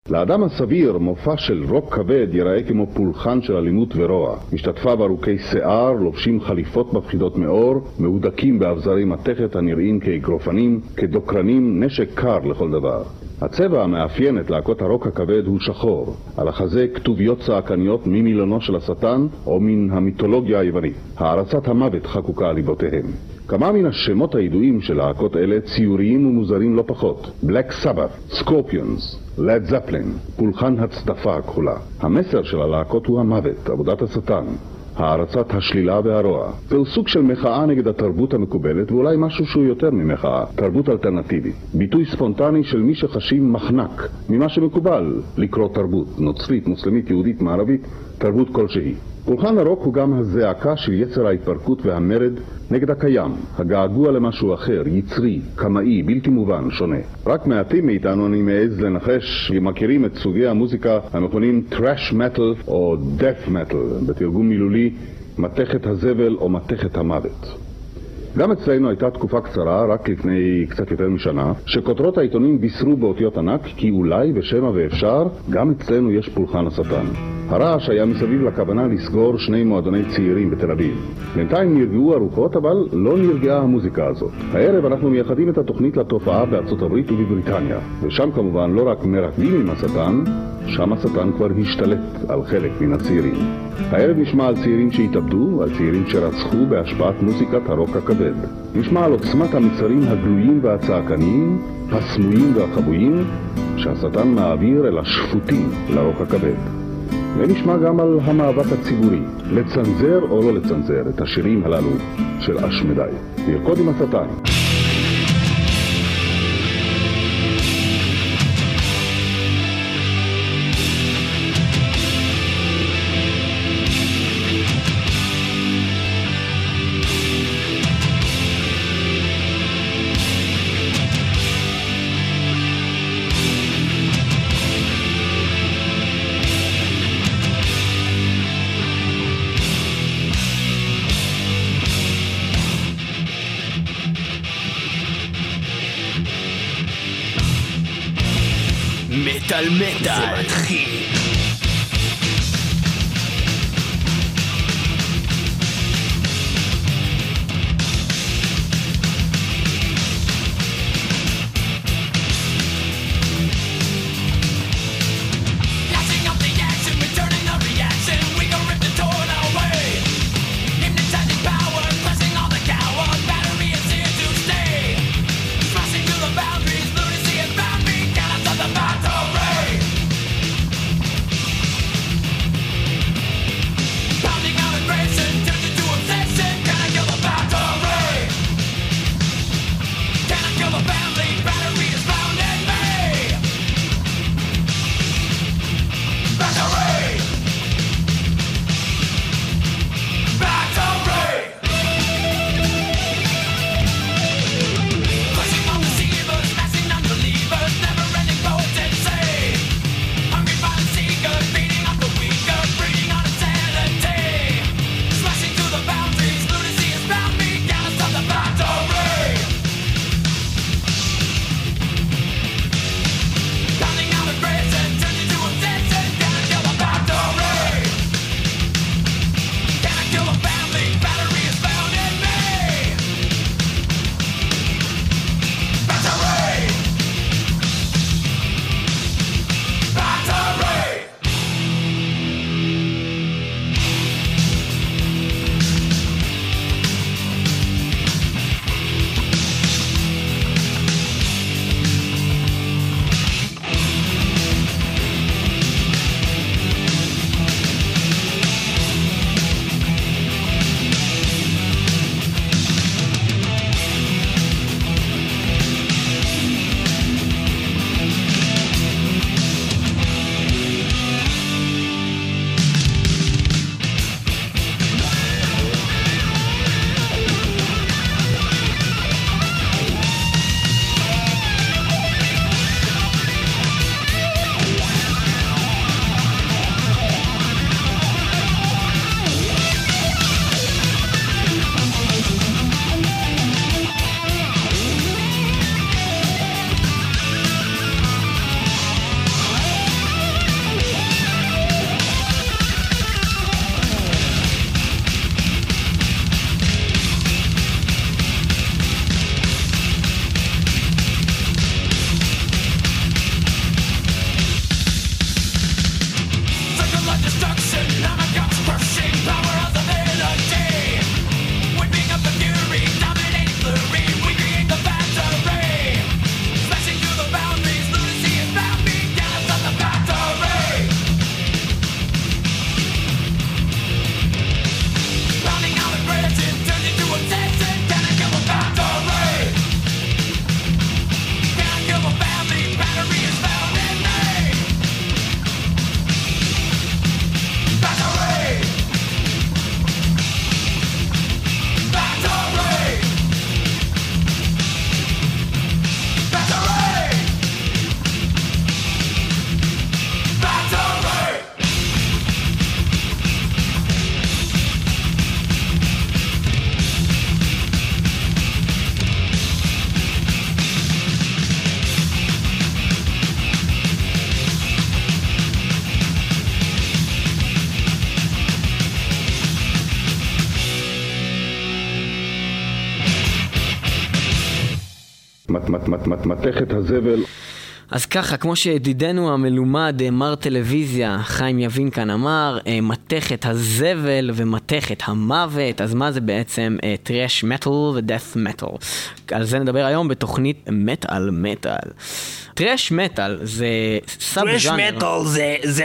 לאדם הסביר מופע של רוק כבד ייראה כמו פולחן של אלימות ורוע. משתתפיו ארוכי שיער, לובשים חליפות מפחידות מאור, מהודקים באבזרי מתכת הנראים כאגרופנים, כדוקרנים, נשק קר לכל דבר. הצבע המאפיין את להקות הרוק הכבד הוא שחור. על החזה כתוביות צעקניות ממילונו של השטן או מן המיתולוגיה היוונית. הערצת המוות חקוקה על ליבותיהם. כמה מן השמות הידועים של להקות אלה ציוריים ומוזרים לא פחות. Black Sabbath, Scorpions, Led Zeppelin, פולחן הצדפה הכחולה. המסר של הלהקות הוא המוות, עבודת השטן, הערצת השלילה והרוע. זהו סוג של מחאה נגד התרבות המקובלת, ואולי משהו שהוא יותר ממחאה, תרבות אלטרנטיבית. ביטוי ספונטני של מי שחשים מחנק ממה שמקובל לקרוא תרבות, נוצרית, מוסלמית, יהודית, מערבית, תרבות כלשהי. פולחן הרוק הוא גם הזעקה של יצר ההתפרקות והמרד נגד הקיים, הגעגוע למשהו אחר, יצרי, קמאי, בלתי מובן, שונה. רק מעטים מאיתנו אני מעז לנחש שמכירים את סוגי המוזיקה המכונים Thrash Metal או Death Metal, בתרגום מילולי מתכת הזבל או מתכת המוות. גם אצלנו הייתה תקופה קצרה, רק לפני קצת יותר משנה, שכותרות העיתונים בישרו באותיות ענק כי אולי בשמה ואפשר גם אצלנו יש פולחן השטן. הרעש היה מסביב לכוונה לסגור 2 מועדוני צעירים בתל אביב. בינתיים נרגעו הרוחות, אבל לא נרגעה המוזיקה הזאת. הערב אנחנו מייחדים את התוכנית לתופעה בארצות הברית ובבריטניה, ושם כמובן לא רק מרקדים עם השטן, שם השטן כבר השתלט על חלק מן הצעירים. הערב נשמע על צעירים שהתאבדו, על צעירים שרצחו בהשפעת מוזיקת הרוק הכבד. נשמע על עוצמת המצרים הגלויים והצעקניים, הסמויים והחבויים, שהשטן מעביר אל השפוטים לרוק הכבד. ונשמע גם על המאבק הציבורי, לצנזר או לא לצנזר את השירים הללו של אשמדי. לרקוד עם השטן. מטל מטל זה מתחיל. מתכת הזבל. אז ככה, כמו שידידנו המלומד, מר טלוויזיה, חיים יבין כאן אמר, מתכת הזבל ומתכת המוות, אז מה זה בעצם טרש מטל ודף מטל? על זה נדבר היום בתוכנית מטל מטל. טרש מטל זה סאב ז'אנר. טרש מטל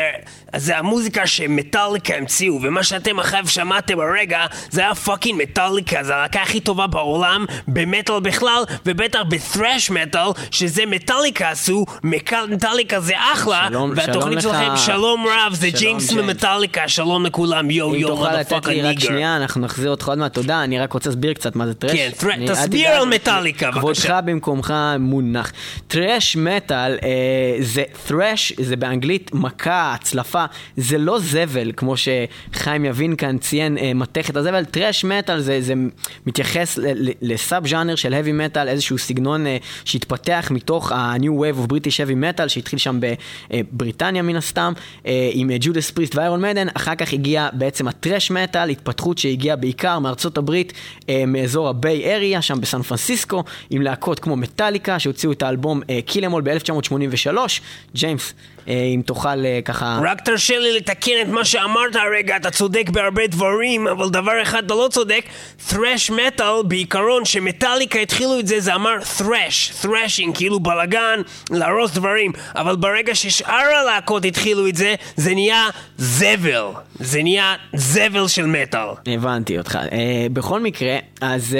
זה המוזיקה שמטליקה המציאו, ומה שאתם אחריו שמעתם הרגע זה היה פאקינג מטליקה, זה הלהקה הכי טובה בעולם במטל בכלל, ובטח בטרש מטל שזה מטליקה עשו, מטליקה זה אחלה, והתוכנית שלכם שלום רב, זה ג'יימס ממטליקה, שלום לכולם, יו יו תוכל לתת לי רק שנייה, אנחנו נחזיר אותך עוד מעט, תודה, אני רק רוצה להסביר קצת מה זה טרש. כן, תסביר על מטליקה בבקשה. כבודך במקומך מונח. טרש מטל זה thrash, זה באנגלית מכה, הצלפה, זה לא זבל כמו שחיים יבין כאן ציין מתכת הזבל. טרש מטל זה מתייחס לסאב ז'אנר של heavy metal, איזשהו סגנון שהתפתח מתוך ה-new wave of British heavy metal שהתחיל שם בבריטניה מן הסתם עם ג'ודס פריסט ואיירון מדן. אחר כך הגיע בעצם הטרש מטל, התפתחות שהגיעה בעיקר מארצות הברית, מאזור הביי אריה שם בסן פרנסיסקו, עם להקות כמו מטליקה שהוציאו את האלבום Kill Em All ב-1983. ג'יימס, אם תוכל ככה... רק תרשה לי לתקן את מה שאמרת הרגע, אתה צודק בהרבה דברים, אבל דבר אחד אתה לא צודק. thrash metal בעיקרון שמטליקה התחילו את זה, זה אמר thrashing, כאילו בלגן, להרוס דברים, אבל ברגע ששאר הלהקות התחילו את זה, זה נהיה זבל, זה נהיה זבל של מטל. הבנתי אותך. בכל מקרה, אז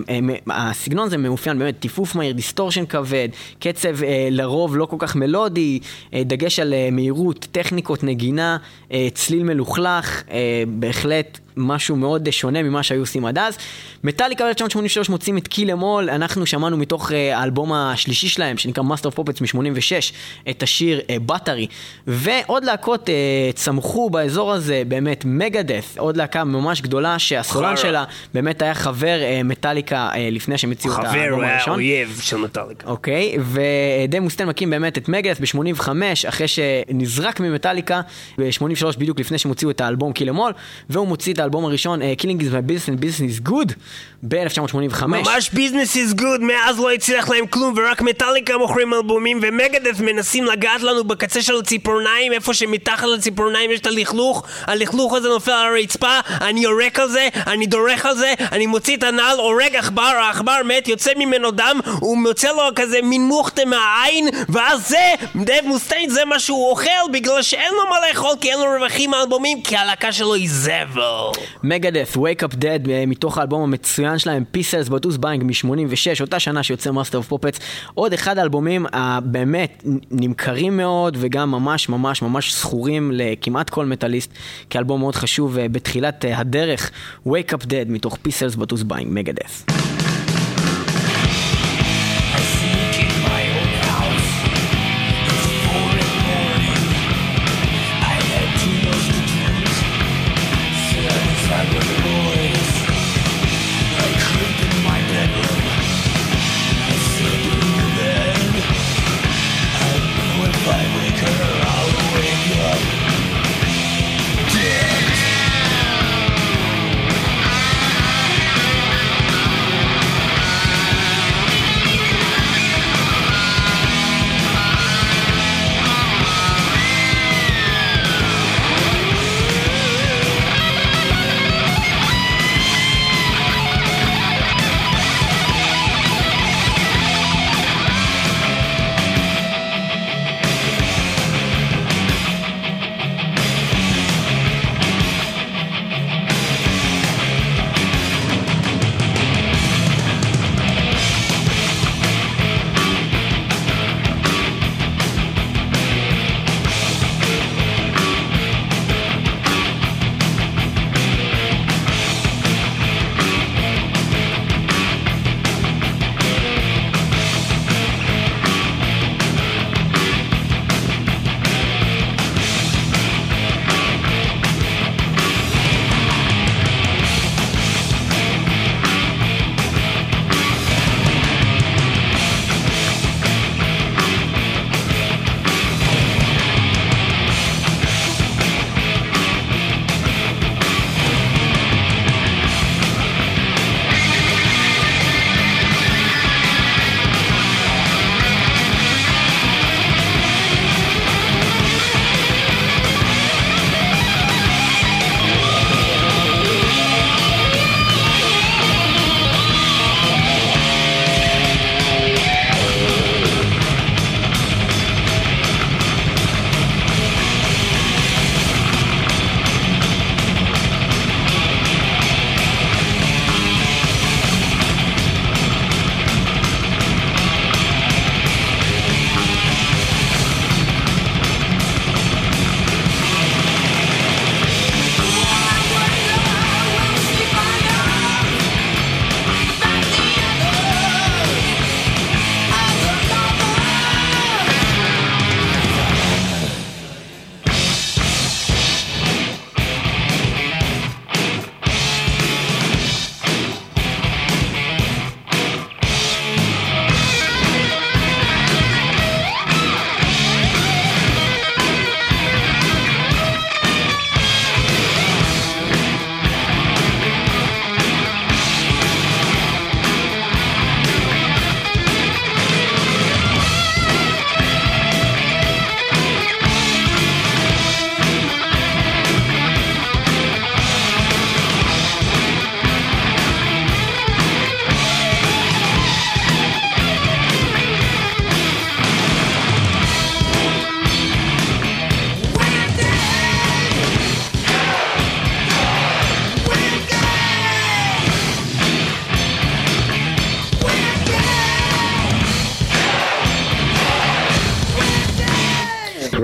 הסגנון זה מאופיין באמת טיפוף מהיר, דיסטורשן כבד, קצב לרוב לא כל כך מלודי, דגש על מהירות, טכניקות נגינה, צליל מלוכלך, בהחלט משהו מאוד שונה ממה שהיו עושים עד אז. מטליקה ב-1983 מוצאים את Kill Em All, אנחנו שמענו מתוך האלבום השלישי שלהם שנקרא Master of Puppets מ-86 את השיר Battery, ועוד להקות צמחו באזור הזה, באמת מגדף, עוד להקה ממש גדולה שהסולן שלה באמת היה חבר מטליקה לפני שהם הציעו את האלבום הראשון. חבר, הוא היה אויב של מטליקה. אוקיי, ודייב מוסטיין מקים באמת את מגדף ב-85 אחרי שנזרק ממטליקה ב-83 בדיוק לפני שהם הוציאו את האלבום Kill Em All, והוא מוציא את האלבום הראשון Killing is my business and business is good ב-1985. ממש business is good, מאז לא הצליח להם כלום ורק מטליקה מוכרים אלבומים, ומגדף מנסים לגעת לנו בקצה של הציפורניים, איפה שמתחת לציפורניים יש את הלכלוך הזה נופל על הרצפה, אני יורק על זה, אני דורך על זה, אני מוציא את הנעל, הורג עכבר, העכבר מת, יוצא ממנו דם, הוא מוצא לו כזה מין מוכתה מהעין, ואז זה, דייב מוסטיין זה מה שהוא אוכל, בגלל שאין לו מה לאכול, כי אין לו רווחים מהאלבומים, כי הלהקה שלו היא זבל. מגדף, Wake Up Dead, מתוך האלבום המצוין שלהם, Pieces But Who's Buying מ-86, אותה שנה שיוצא Master of Puppets, עוד אחד האלבומים הבאמת נמכרים מאוד, וגם ממש ממש ממש סחורים לכמעט כל מטליסט, כאלבום מאוד חשוב בתחילת הדרך, Wake Up Dead, מתוך Pieces But Who's Buying, מגדף. Dead.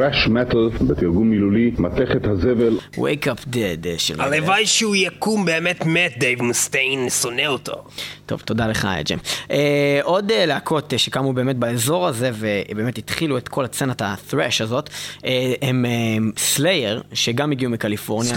thrash metal, בתרגום מילולי, מתכת הזבל. Wake up dead של... הלוואי שהוא יקום באמת מת, דייב מוסטיין, שונא אותו. טוב, תודה לך, ג'ם. עוד להקות שקמו באמת באזור הזה, ובאמת התחילו את כל הצנת ה-thrash הזאת, הם סלייר, שגם הגיעו מקליפורניה.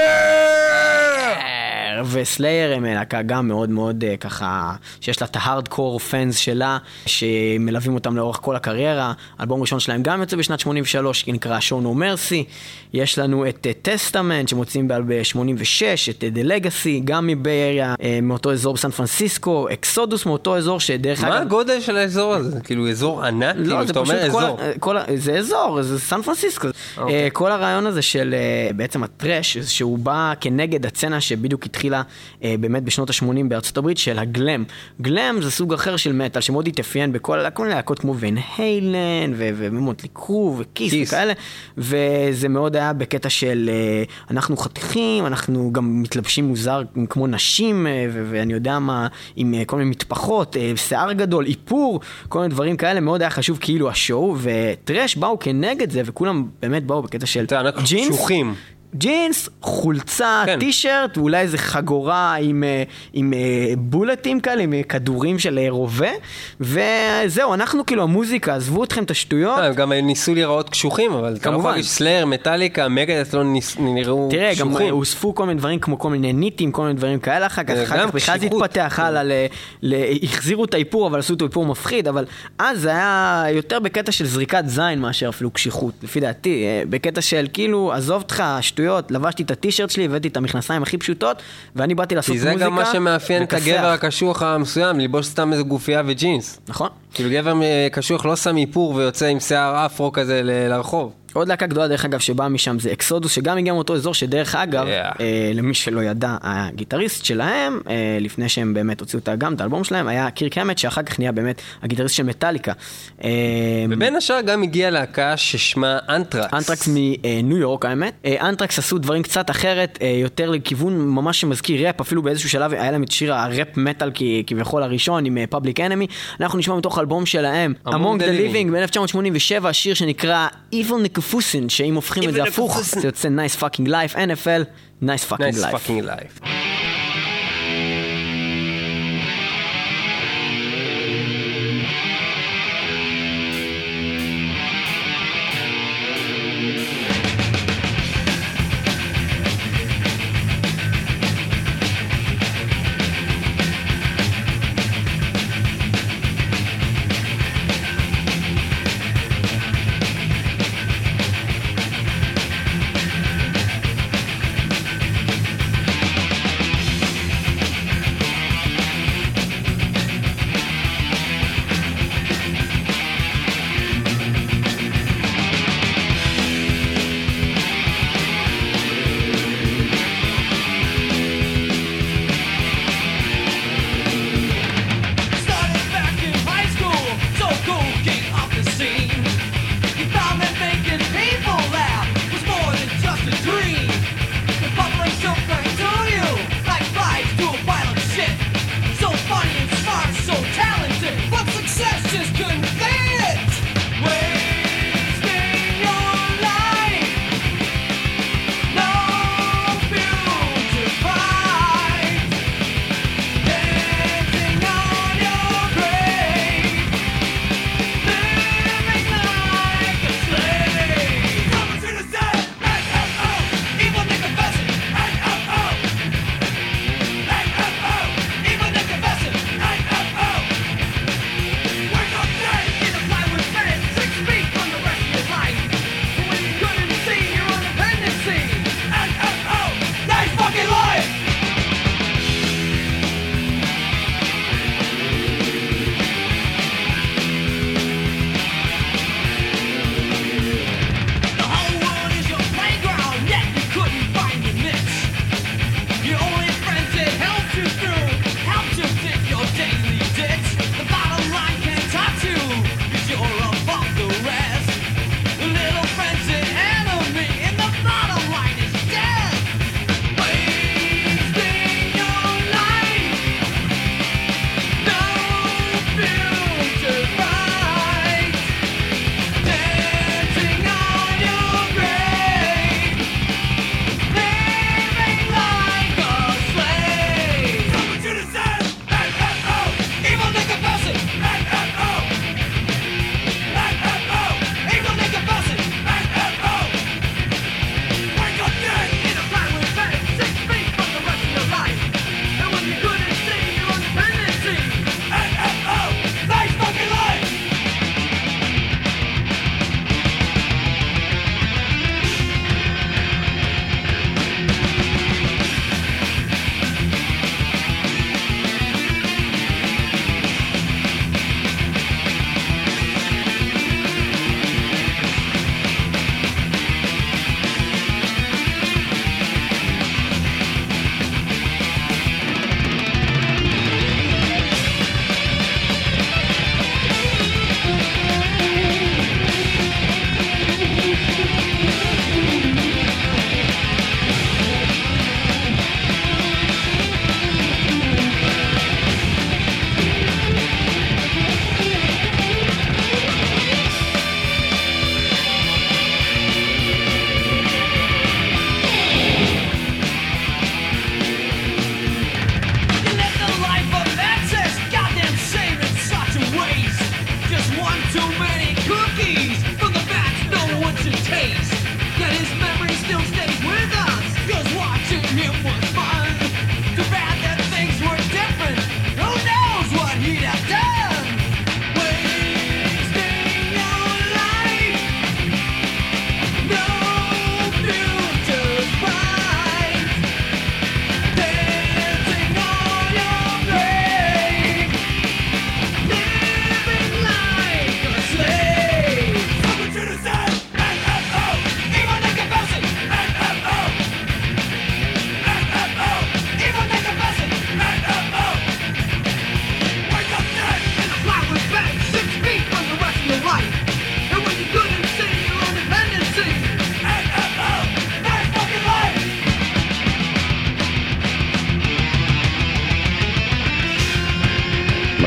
וסלייר הם להקה גם מאוד מאוד ככה, שיש לה את ההארדקור פאנס שלה, שמלווים אותם לאורך כל הקריירה. אלבום ראשון שלהם גם יוצא בשנת 83, נקרא Show No Mercy. יש לנו את טסטמנט שמוצאים ב-86, את The Legacy, גם מבאריה, מאותו אזור בסן פרנסיסקו, אקסודוס מאותו אזור שדרך מה הגודל של האזור הזה? כאילו אזור ענק? לא, זה פשוט זה אזור, זה סן פרנסיסקו. כל הרעיון הזה של בעצם הטרש, שהוא בא כנגד הצנה שבדיוק התחילה באמת בשנות ה-80 בארצות הברית, של הגלם. גלם זה סוג אחר של מטל, שמאוד התאפיין בכל להקות כמו ון היילן, ומוטלי קרו, וקיס וכאלה, וזה מאוד היה בקטע של אנחנו חתיכים, אנחנו גם מתלבשים מוזר כמו נשים, ואני יודע מה, עם כל מיני מטפחות, שיער גדול, איפור, כל מיני דברים כאלה, מאוד היה חשוב כאילו השואו, וטרש באו כנגד זה, וכולם באמת באו בקטע של ג'ינס. ג'ינס, חולצה, טישרט, ואולי איזה חגורה עם בולטים כאלה, עם כדורים של רובה, וזהו, אנחנו כאילו המוזיקה, עזבו אתכם את השטויות. גם ניסו להיראות קשוחים, אבל אתה לא יכול להגיד סלייר, מטליקה, מגדס לא נראו קשוחים. תראה, גם הוספו כל מיני דברים כמו כל מיני ניטים, כל מיני דברים כאלה, אחר כך בכלל זה התפתח הלאה, החזירו את האיפור, אבל עשו את האיפור מפחיד, אבל אז זה היה יותר בקטע של זריקת זין מאשר אפילו קשיחות, לפי דעתי, בקטע של כאילו, עזוב אותך, שטויות, לבשתי את הטישרט שלי, הבאתי את המכנסיים הכי פשוטות, ואני באתי לעשות מוזיקה. כי זה גם מה שמאפיין את הגבר הקשוח המסוים, ללבוש סתם איזה גופייה וג'ינס. נכון. כאילו גבר קשוח לא שם איפור ויוצא עם שיער אפרו כזה לרחוב. עוד להקה גדולה דרך אגב שבאה משם זה אקסודוס, שגם הגיע מאותו אזור שדרך אגב, למי שלא ידע, הגיטריסט שלהם, לפני שהם באמת הוציאו גם את האלבום שלהם, היה קירק המט, שאחר כך נהיה באמת הגיטריסט של מטליקה. ובין השאר גם הגיעה להקה ששמה אנטרקס. אנטרקס מניו יורק האמת. אנטרקס עשו דברים קצת אחרת, יותר לכיוון ממש שמזכיר ראפ, אפילו באיזשהו שלב היה להם את שיר הראפ מטל כביכול הראשון עם Public Enemy. אנחנו נשמע מתוך האלבום שלהם, Among the Living ב-1987, שיר שנקרא Evil פוסין, שאם הופכים את זה הפוך, זה יוצא Nice Fucking Life, NFL, Nice Fucking Life.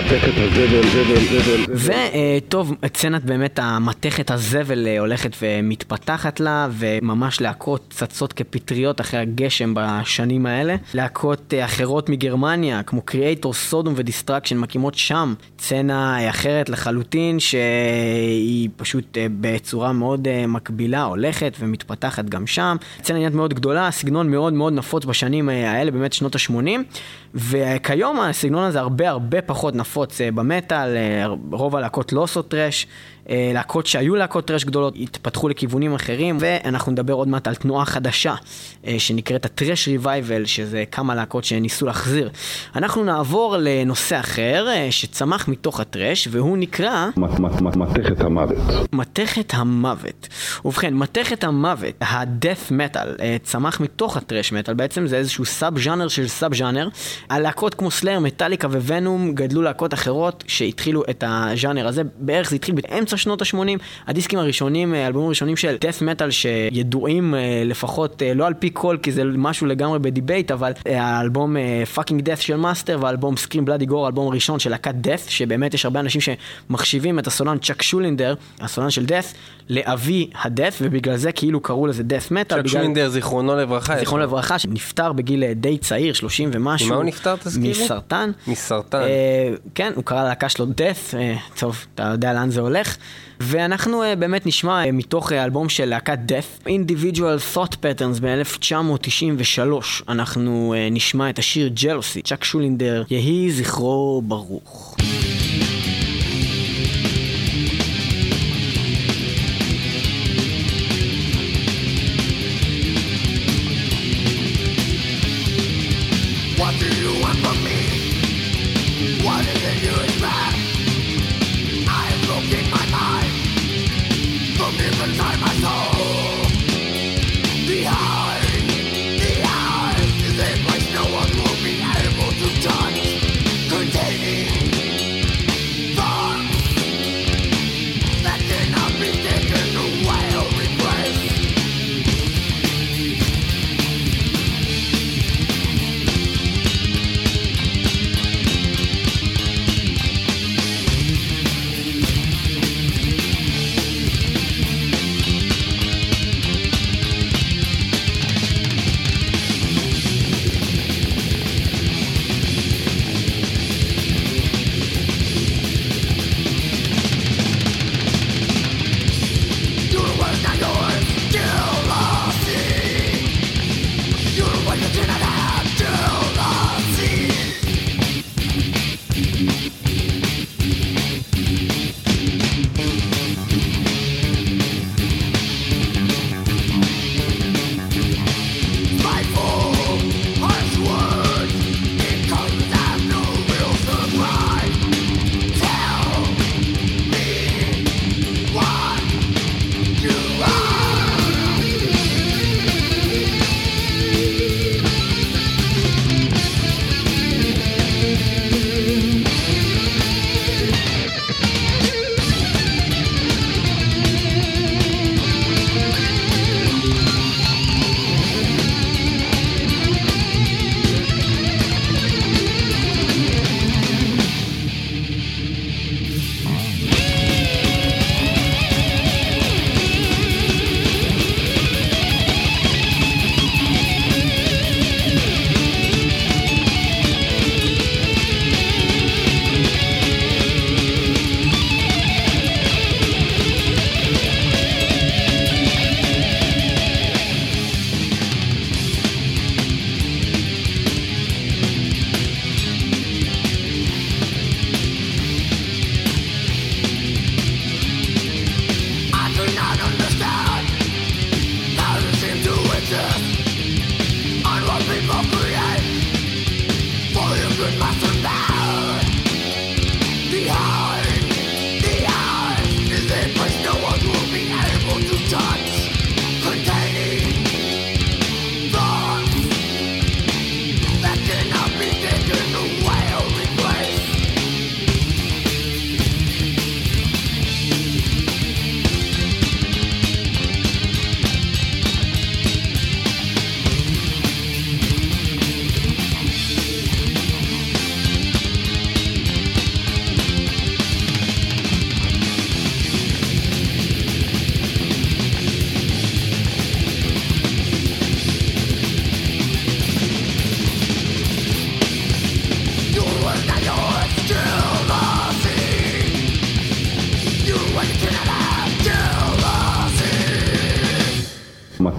מתכת הזבל. וטוב, סצנת באמת המתכת הזבל הולכת ומתפתחת לה, וממש להקות צצות כפטריות אחרי הגשם בשנים האלה. להקות אחרות מגרמניה, כמו קריאטור, סודום ודיסטרקשן, מקימות שם סצנה אחרת לחלוטין, שהיא פשוט בצורה מאוד מקבילה, הולכת ומתפתחת גם שם. סצנה עניין מאוד גדולה, סגנון מאוד מאוד נפוץ בשנים האלה, באמת שנות ה-80, וכיום הסגנון הזה הרבה פחות נפוץ במטל. רוב הלהקות לא עושות טרש, להקות שהיו להקות טרש גדולות התפתחו לכיוונים אחרים, ואנחנו נדבר עוד מעט על תנועה חדשה שנקראת הטרש ריווייבל, שזה כמה להקות שניסו להחזיר. אנחנו נעבור לנושא אחר שצמח מתוך הטרש, והוא נקרא מתכת המוות. מתכת המוות. ובכן, מתכת המוות, הדף מטל, צמח מתוך הטרש מטל. בעצם זה איזשהו סאב ז'אנר של סאב ז'אנר. הלהקות כמו סלייר, מטליקה וונום גדלו להקות אחרות שהתחילו את הז'אנר הזה. בערך זה התחיל באמצע שנות ה-80. הדיסקים הראשונים, האלבומים הראשונים של דף מטל שידועים לפחות לא על פי כל, כי זה משהו לגמרי בדיבייט, אבל האלבום Fucking Death של מאסטר והאלבום Scream Bloody Gore, האלבום הראשון של להקת דף, שבאמת יש הרבה אנשים שמחשיבים את הסולן צ'אק שולינדר, הסולן של דף, לאבי הדף, ובגלל זה כאילו קראו לזה דף מטל. צ'אק שולינדר, זיכרונו לברכה. זיכרונו לברכה, שנפטר בגיל די צעיר, 30 ומשהו. ממה הוא נפטר, תזכירי? מסרטן. מסרטן. כן, הוא קרא להקה שלו דף, טוב, אתה יודע לאן זה הולך. ואנחנו באמת נשמע מתוך האלבום של להקת דף, Individual Thought Patterns ב-1993. אנחנו נשמע את השיר Jealousy, צ'אק שולינדר, יהי זכרו ברוך.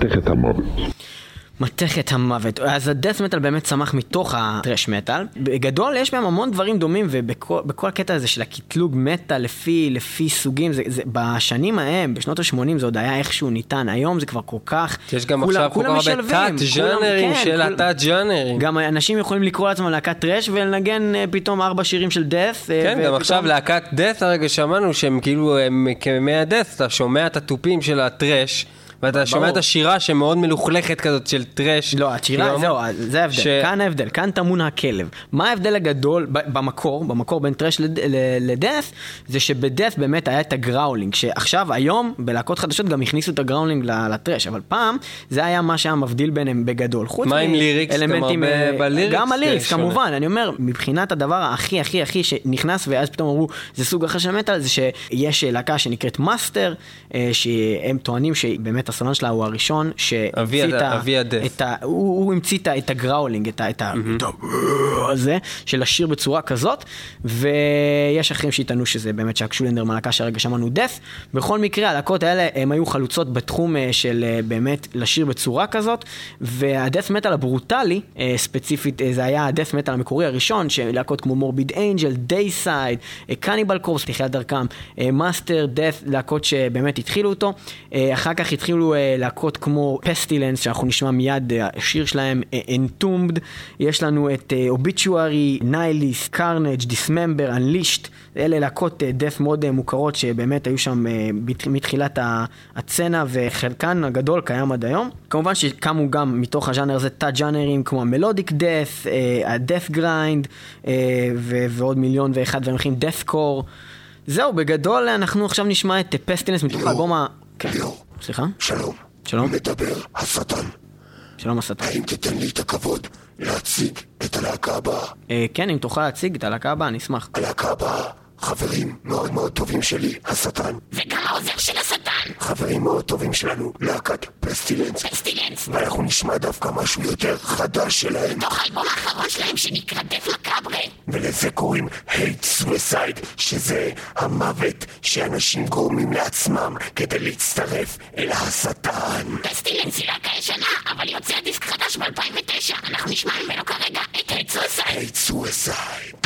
מתכת המוות. מתכת המוות. אז הדאט מטל באמת צמח מתוך הטרש מטל. בגדול יש בהם המון דברים דומים, ובכל הקטע הזה של הקטלוג מטל לפי סוגים, זה בשנים ההם, בשנות ה-80 זה עוד היה איכשהו ניתן. היום זה כבר כל כך... יש גם עכשיו כל כך הרבה תת-ג'אנרים של התת-ג'אנרים. גם אנשים יכולים לקרוא לעצמם להקת טרש ולנגן פתאום 4 שירים של דאט. כן, גם עכשיו להקת דאט, הרגע שמענו שהם כאילו כמי הדאט, אתה שומע את הטופים של הטרש, ואתה שומע את השירה שמאוד מלוכלכת כזאת של טרש. לא, השירה, זהו, זה ההבדל. כאן ההבדל, כאן טמון הכלב. מה ההבדל הגדול במקור בין טרש לדאט, זה שבדאט באמת היה את הגראולינג, שעכשיו, היום, בלהקות חדשות גם הכניסו את הגראולינג לטרש, אבל פעם, זה היה מה שהיה מבדיל ביניהם בגדול. מה עם ליריקס? אלמנטים, בליריקס? גם הליריקס, כמובן. אני אומר, מבחינת הדבר הכי שנכנס, ואז פתאום אמרו, זה סוג אחר של מטל, זה שיש להקה שנקראת מאסטר, שהם טוענים שבאמת הסולן שלה הוא הראשון הוא המציא את הגראולינג, את הזה של השיר בצורה כזאת, ויש אחרים שיטענו שזה באמת שק שולנדר מלהקה שהרגע שמענו דף. בכל מקרה, הלהקות האלה הם היו חלוצות בתחום של באמת לשיר בצורה כזאת, והדף מטל הברוטלי, ספציפית זה היה הדף מטל המקורי הראשון, שלהקות כמו מורביד אנג'ל, דייסייד, קניבל קורפס, תחילת דרכם, מאסטר, דף, להקות שבאמת התחילו אותו. אחר כך התחילו להקות כמו פסטילנס, שאנחנו נשמע מיד השיר שלהם, Entombed. יש לנו את Obituary, Nihilist, Carnage, Dismember, Unleashed. אלה להקות דף מאוד מוכרות שבאמת היו שם מתחילת הצנה, וחלקן הגדול קיים עד היום. כמובן שקמו גם מתוך הז'אנר הזה תת-ג'אנרים כמו המלודיק דף, הדף גריינד, ועוד מיליון ואחד דברים אחרים, דף קור. זהו, בגדול אנחנו עכשיו נשמע את פסטילנס מתוך האלבום סליחה? שלום. שלום. מדבר השטן. שלום השטן. האם תיתן לי את הכבוד להציג את הלהקה הבאה? כן, אם תוכל להציג את הלהקה הבאה, אני אשמח. הלהקה הבאה, חברים מאוד מאוד טובים שלי, השטן. וגם העוזר של השטן. חברים מאוד טובים שלנו, להקת פסטילנס. ואנחנו נשמע דווקא משהו יותר חדש שלהם. מתוך האלבום האחרון שלהם שנקרא דף מקאברה. ולזה קוראים Hate Suicide, שזה המוות שאנשים גורמים לעצמם כדי להצטרף אל השטן. פסטילנס היא להקה ישנה, אבל יוצא דיסק חדש ב-2009. אנחנו נשמע ממנו כרגע את Hate Suicide. Hate Suicide.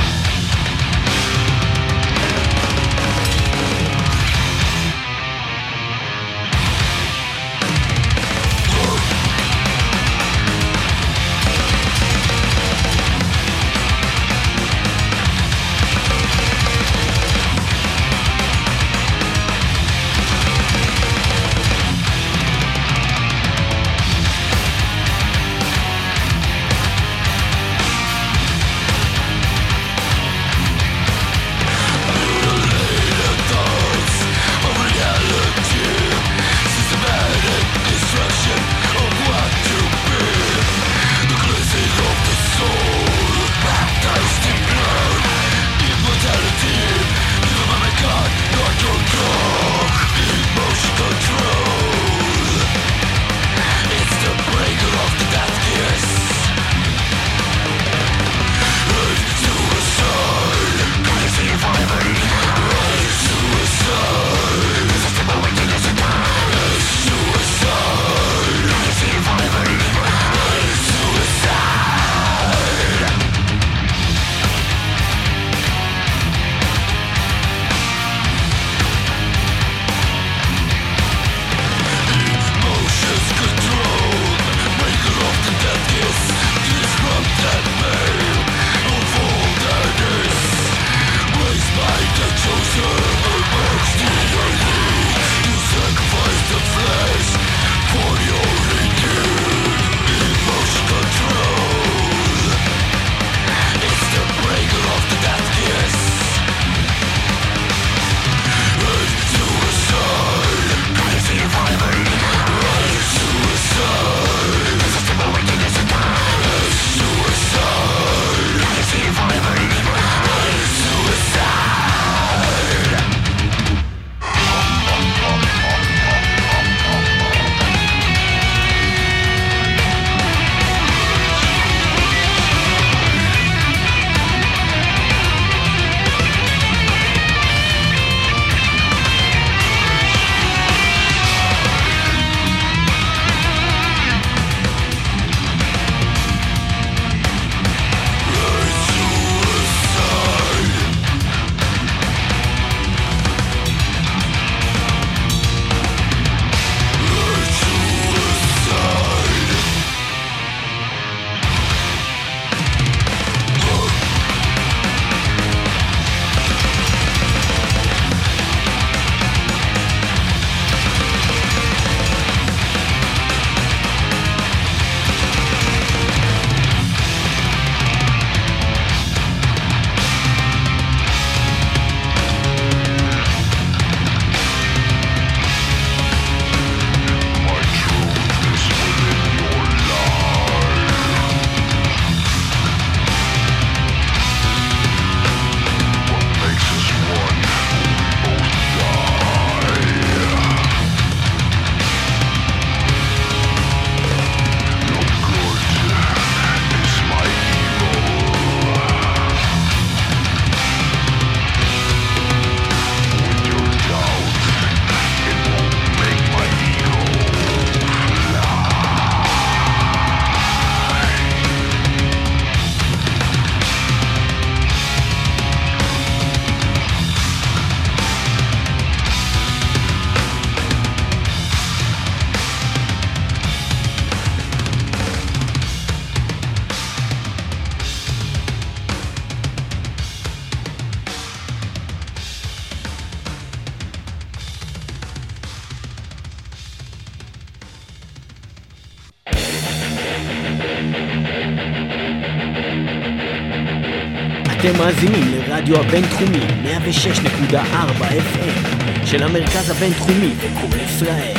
אתם מאזינים לרדיו הבינתחומי 106.4 FM של המרכז הבינתחומי וקול ישראל.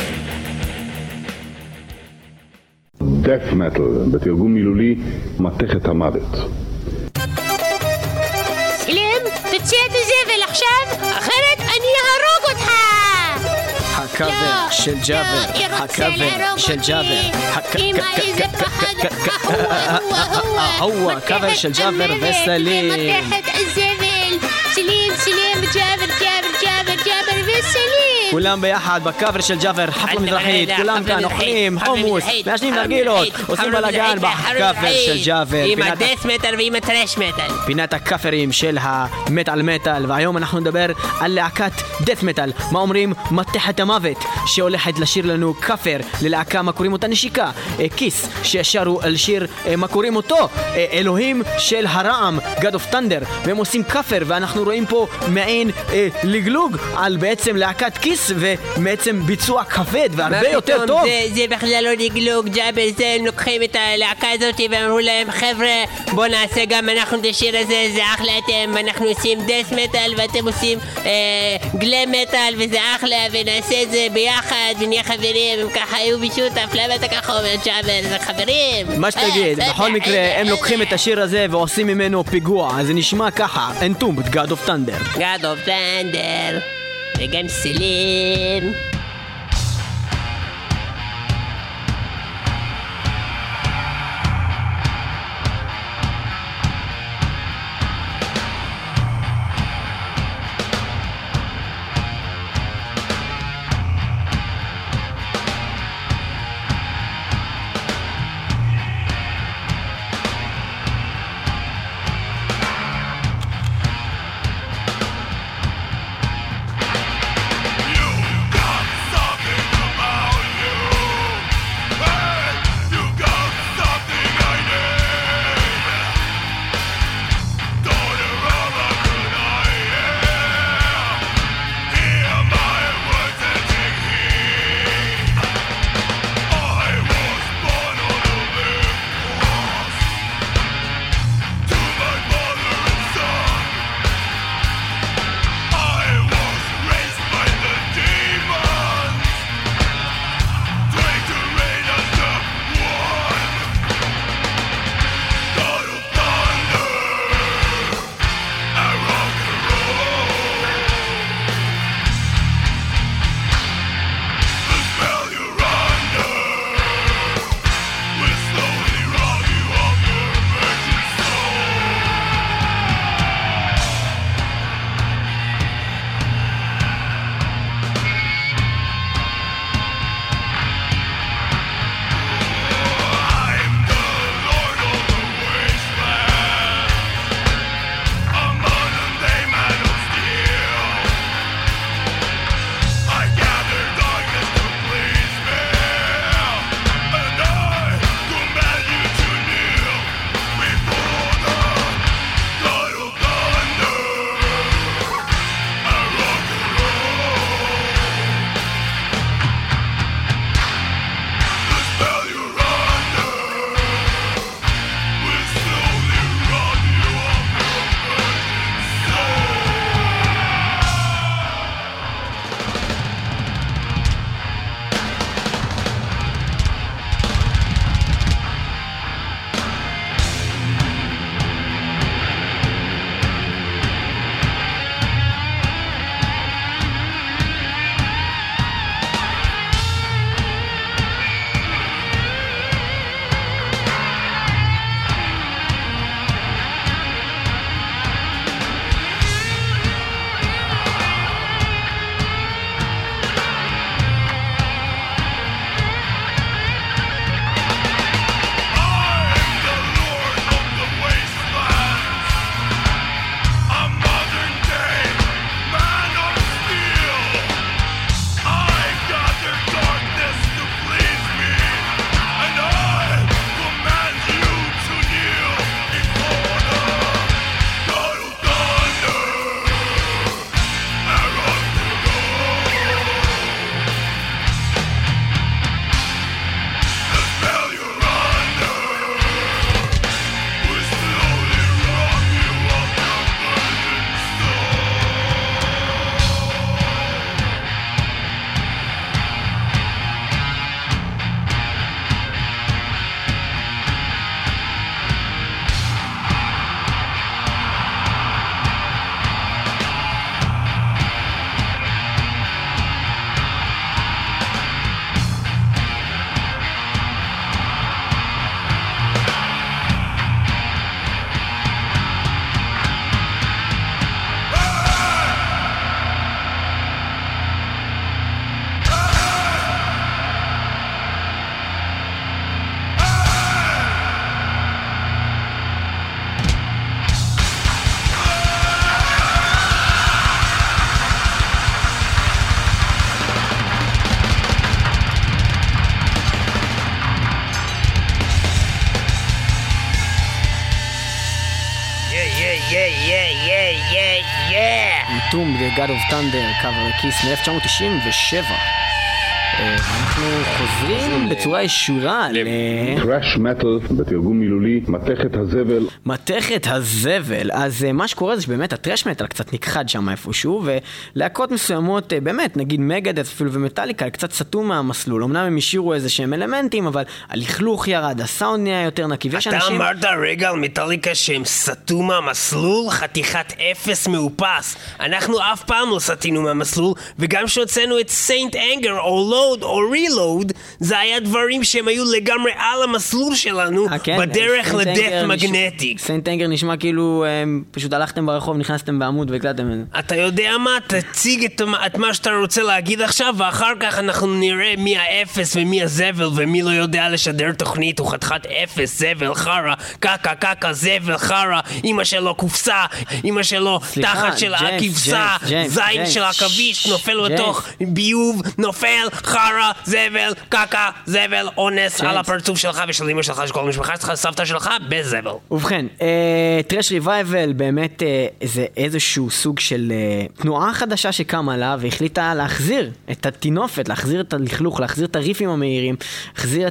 Death Metal, בתרגום מילולי, מתכת המוות. סלם, תוציא את הזבל עכשיו, אחרת אני אהרוג אותך! הקאבר של ג'אבר, הקאבר של ג'אבר, אמא, איזה פחד, הקאבר של ג'אבר וסלים. מתכת הזבל, סלים, ג'אבר וסלים. כולם ביחד בקאבר של ג'אבר, חפלה מזרחית, כולם כאן אוכלים חומוס, מעשנים נרגילות, עושים בלגן בקאבר של ג'אבר. עם הדס מטל ועם הטרש מטל. פינת הקאפרים של המטל מטל, והיום אנחנו נדבר על להקת דף מטל. מה אומרים? מתכת המוות, שהולכת לשיר לנו קאפר ללהקה, מה קוראים אותה נשיקה, כיס, ששרו על שיר, מה קוראים אותו? אלוהים של הרעם, God of Thunder, והם עושים קאפר, ואנחנו רואים פה מעין לגלוג על בעצם להקת כיס, ובעצם ביצוע כבד והרבה יותר טוב. זה בכלל לא לגלוג, ג'אבר, זה הם לוקחים את הלהקה הזאת ואמרו להם, חבר'ה, בוא נעשה גם אנחנו את השיר הזה, זה אחלה אתם, אנחנו עושים דס מטל ואתם עושים גלם מטל, וזה אחלה, ונעשה את זה ביחד ונהיה חברים, הם ככה היו בשותף, למה אתה ככה אומר ג'אבר, זה חברים? מה שתגיד, בכל מקרה הם לוקחים את השיר הזה ועושים ממנו פיגוע, אז זה נשמע ככה, Entombed, God of Thunder. God of Thunder וגם סלים. You got Entombed, The God of Thunder, cover לכיס מ-1997. אנחנו חוזרים בצורה ישורה טראש מטל, בתרגום מילולי, מתכת הזבל. מתכת הזבל. אז מה שקורה זה שבאמת הטראש מטל קצת נכחד שם איפשהו, ולהקות מסוימות, באמת, נגיד מגדס אפילו ומטליקה, קצת סתו מהמסלול. אמנם הם השאירו איזה שהם אלמנטים, אבל הלכלוך ירד, הסאונד נהיה יותר נקי. אתה אמרת רגע על מטליקה שהם סתו מהמסלול? חתיכת אפס מאופס. אנחנו אף פעם לא סתינו מהמסלול, וגם שהוצאנו את Saint Anger או Load או Reload, זה היה דברים שהם היו לגמרי על המסלול שלנו, בדרך לדף מגנטיק. Saint Anger נשמע כאילו פשוט הלכתם ברחוב, נכנסתם בעמוד והקלטתם. אתה יודע מה? תציג את מה שאתה רוצה להגיד עכשיו, ואחר כך אנחנו נראה מי האפס ומי הזבל, ומי לא יודע לשדר תוכנית, הוא חתיכת אפס, זבל, חרה, קקה, קקה, זבל, חרה, אמא שלו קופסה, אמא שלו תחת של הכבשה, זין של הכביש, נופל לתוך ביוב, נופל, חרה, זבל, קקה, זבל, אונס על הפרצוף שלך ושל אמא שלך, שכל המשפחה שלך, סבתא שלך, בזבל. ובכן, טרש ריווייבל באמת זה איזשהו סוג של תנועה חדשה שקמה עליו והחליטה להחזיר את התינופת, להחזיר את הלכלוך, להחזיר את הריפים המהירים, להחזיר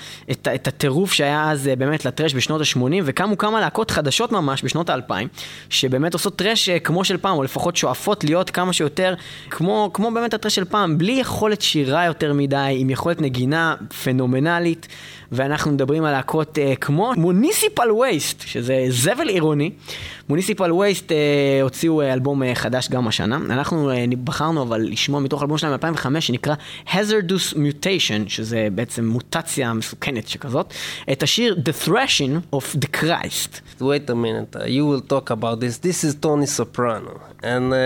את הטירוף שהיה אז באמת לטרש בשנות ה-80, וקמו כמה להקות חדשות ממש בשנות ה-2000 שבאמת עושות טרש כמו של פעם, או לפחות שואפות להיות כמה שיותר כמו באמת הטרש של פעם, בלי יכולת שירה יותר מדי, עם יכולת נגינה פנומנלית. ואנחנו מדברים על להקות כמו מוניסיפל וייסט, שזה זבל עירוני. מוניסיפל וייסט הוציאו אלבום חדש גם השנה. אנחנו בחרנו אבל לשמוע מתוך אלבום שלהם 2005 שנקרא Hazardous Mutation, שזה בעצם מוטציה מסוכנת שכזאת, את השיר The Thrashing of the Christ. Wait a minute, you will talk about this. This is Tony Soprano. And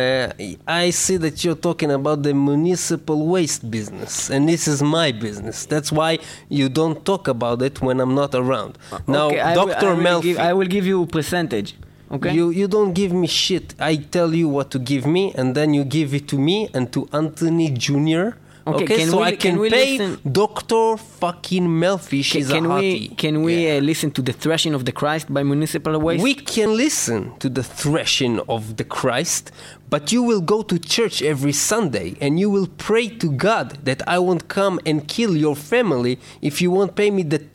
I see that you're talking about the municipal waste business. And this is my business. That's why you don't talk about it when I'm not around. Now, okay, Dr. Melfi... I will give you a percentage. Okay? You don't give me shit. I tell you what to give me, and then you give it to me and to Anthony Jr., Okay, so I can pay Dr. fucking Melfi. She's a hottie. Can we listen to The Thrashing of the Christ by Municipal Waste? We can listen to The Thrashing of the Christ, but you will go to church every Sunday and you will pray to God that I won't come and kill your family if you won't pay me the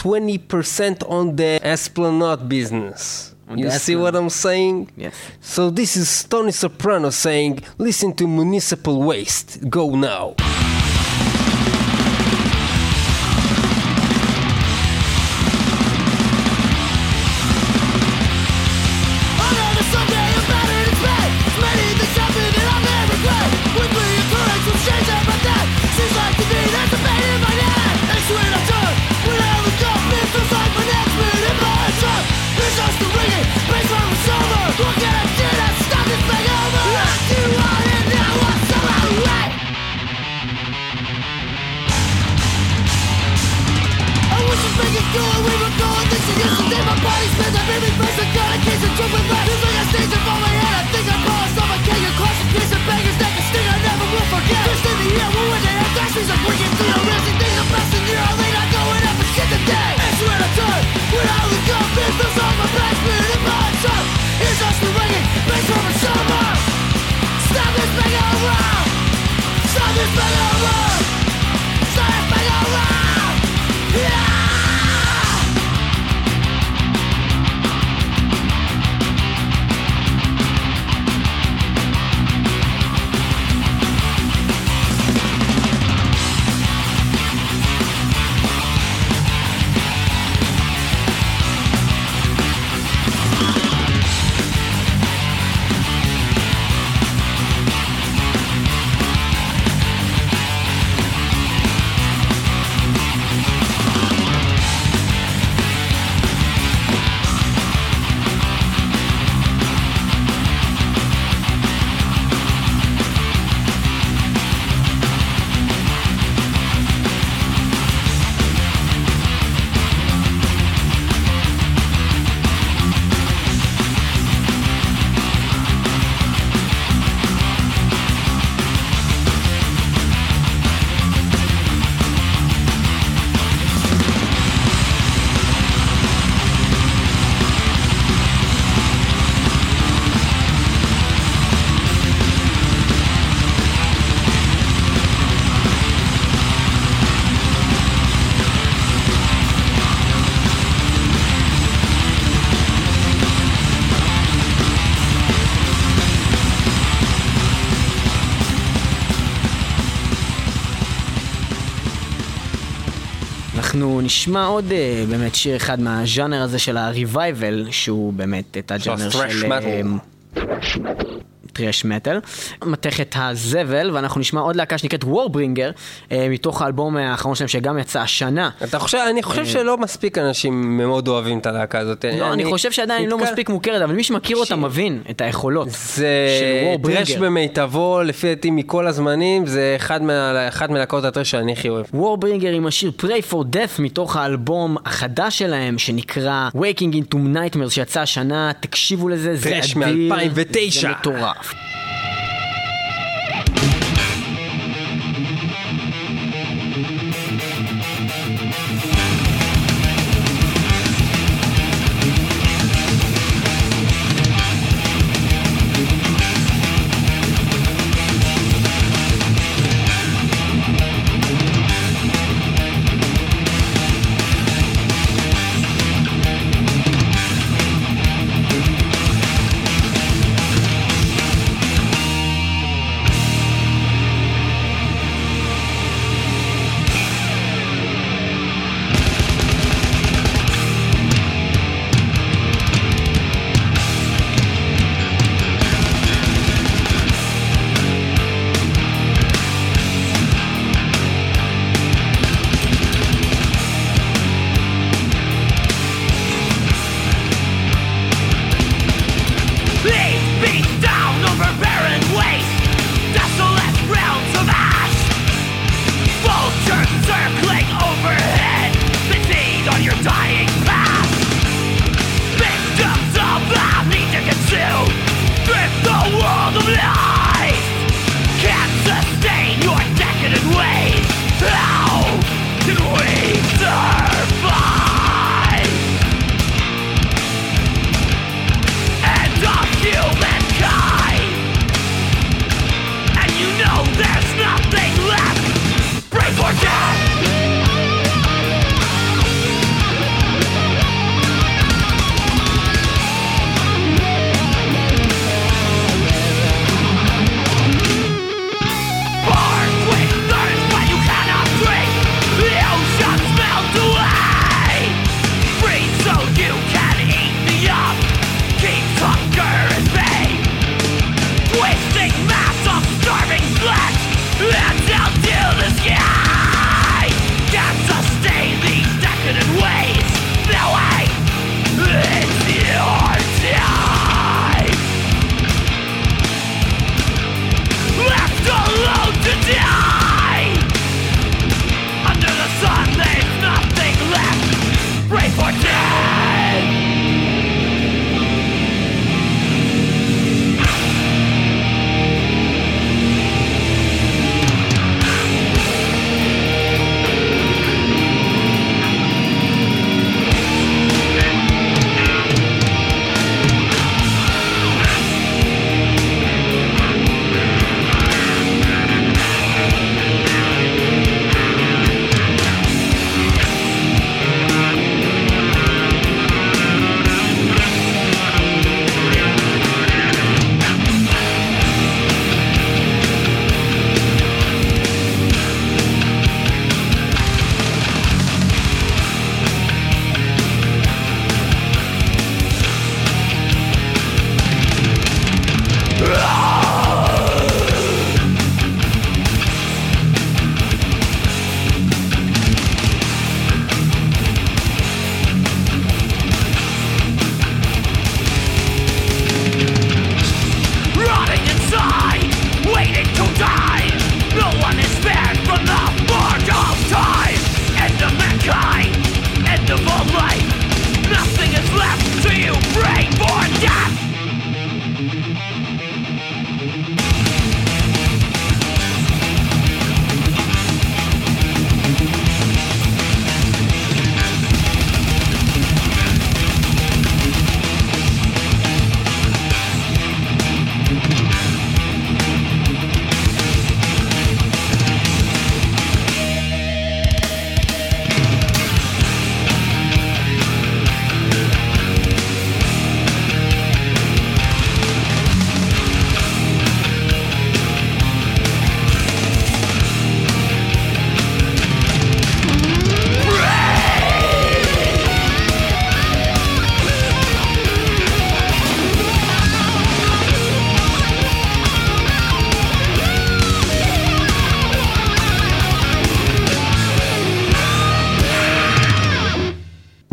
20% on the Esplanade business. You see what I'm saying? Yes. So this is Tony Soprano saying, listen to Municipal Waste. Go now. אנחנו נשמע עוד באמת שיר אחד מהז'אנר הזה של הריווייבל, שהוא באמת את הג'אנר של טרש מטל, מתכת הזבל, ואנחנו נשמע עוד להקה שנקראת וורברינגר, מתוך האלבום האחרון שלהם שגם יצא השנה. אני חושב שלא מספיק אנשים מאוד אוהבים את הלהקה הזאת. לא, אני חושב שעדיין לא מספיק מוכרת, אבל מי שמכיר אותה מבין את היכולות של וורברינגר. טרש במיטבו, לפי דעתי מכל הזמנים, זה אחד מלהקות הטרש שאני הכי אוהב. וורברינגר עם השיר Pray for Death מתוך האלבום החדש שלהם, שנקרא Waking into Nightmares, שיצא השנה, תקשיבו לזה, זה טרש אדיר, מ-2009. זה מטורף.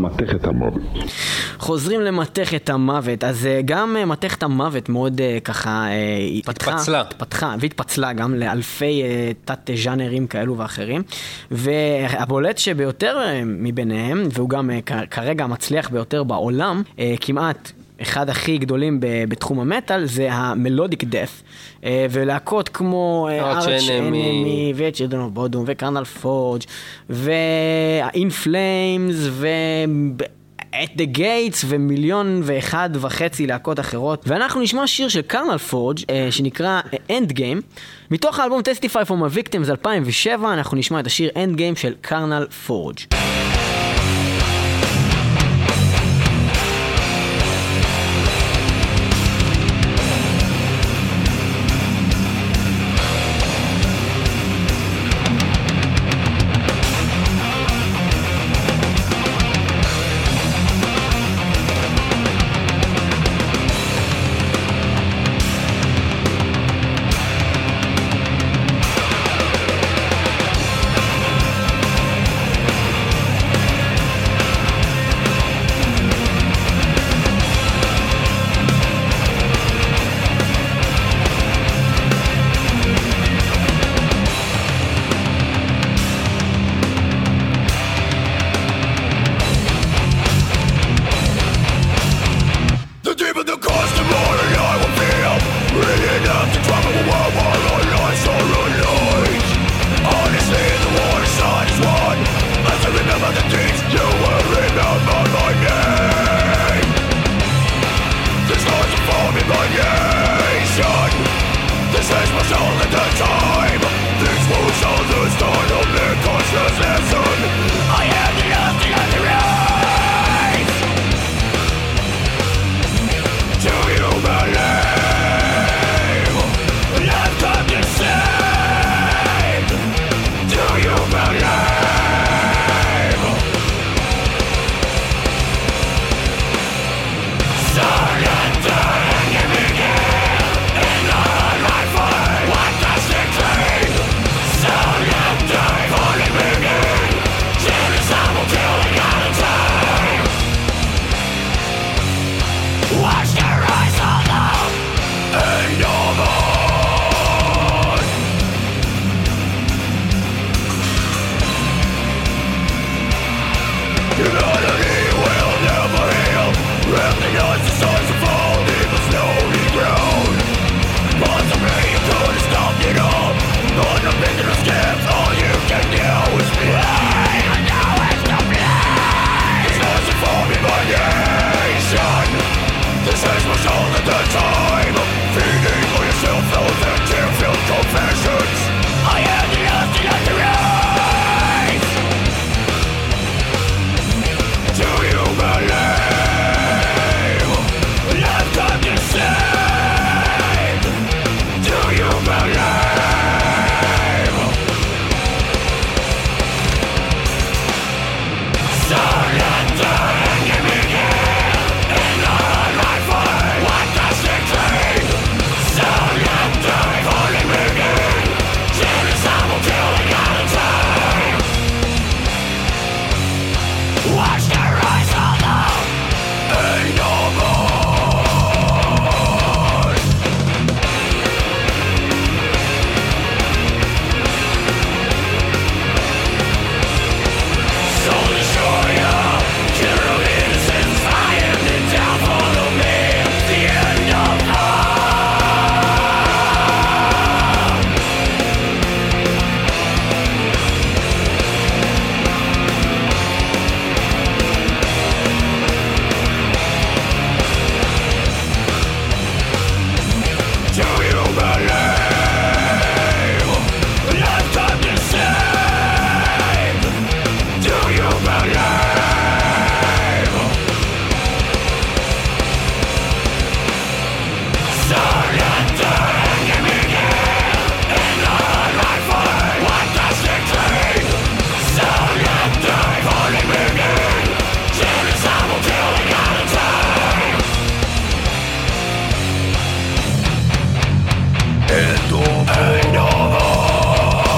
למתכת המוות. חוזרים למתכת המוות, אז גם מתכת המוות מאוד ככה התפתחה והתפצלה גם לאלפי תת ז'אנרים כאלו ואחרים, והבולט שביותר מביניהם, והוא גם כרגע מצליח ביותר בעולם, כמעט אחד הכי גדולים בתחום המטל, זה המלודיק דף, ולהקות כמו Arch Enemy ו-Children of Bodom ו-Carnal Forge ו-In Flames ו-At the Gates ומיליון ואחד וחצי להקות אחרות. ואנחנו נשמע שיר של Carnal Forge שנקרא End Game, מתוך האלבום Testify for My Victims 2007. אנחנו נשמע את השיר End Game של Carnal Forge.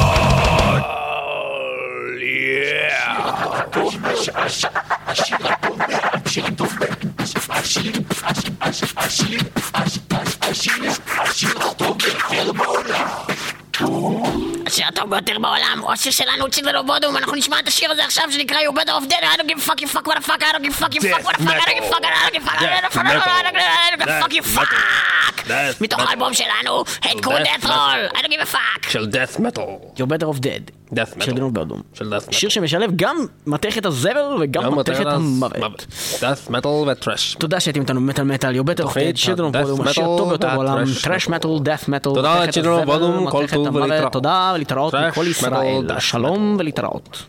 השיר השיר הטוב השיר הטוב ביותר בעולם. השיר הטוב ביותר בעולם, או השיר שלנו, צ'יזל אוף בודום. אנחנו נשמע את השיר הזה עכשיו שנקרא You Better Off Dead. I don't give a fuck, you fuck, what the fuck, I don't give a fuck, you fuck, what the fuck, I don't give a fuck, I don't give a fuck, I don't give a fuck, you fuck. מתוך האלבום שלנו, Hardcore Death Roll, I don't give a fuck. של death metal. You're Better Off Dead. death metal. של דנוב באדום. של death metal. שיר שמשלב גם מתכת הזבל וגם מתכת המוות. death metal וטרש. תודה שהייתם איתנו במטל מטל, You're Better Off Dead, שיר דנוב באדום, השיר הטוב ביותר בעולם, טרש מטל, death metal, תודה לשיר דנוב באדום, כל טוב ולהתראות. תודה ולהתראות מכל ישראל, שלום ולהתראות.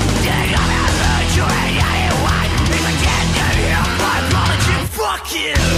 Fuck you!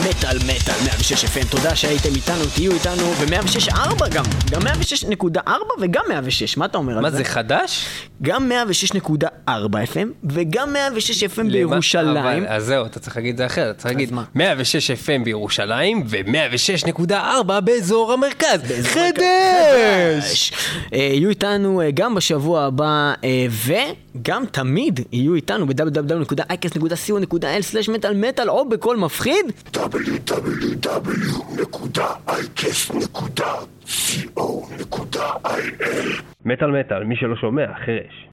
מטל 106 FM, תודה שהייתם איתנו, תהיו איתנו ב-106.4 גם 106.4 וגם 106, מה אתה אומר על זה? מה זה חדש? גם 106.4 FM וגם 106 FM בירושלים. אז זהו, אתה צריך להגיד את זה אחרת, אתה צריך להגיד 106 FM בירושלים ו106.4 באזור המרכז. חדש! יהיו איתנו גם בשבוע הבא וגם תמיד יהיו איתנו ב-www.icast.co.il/metalmetal או בכל מפחיד www.icast.co.il מטל, מי שלא שומע, חרש.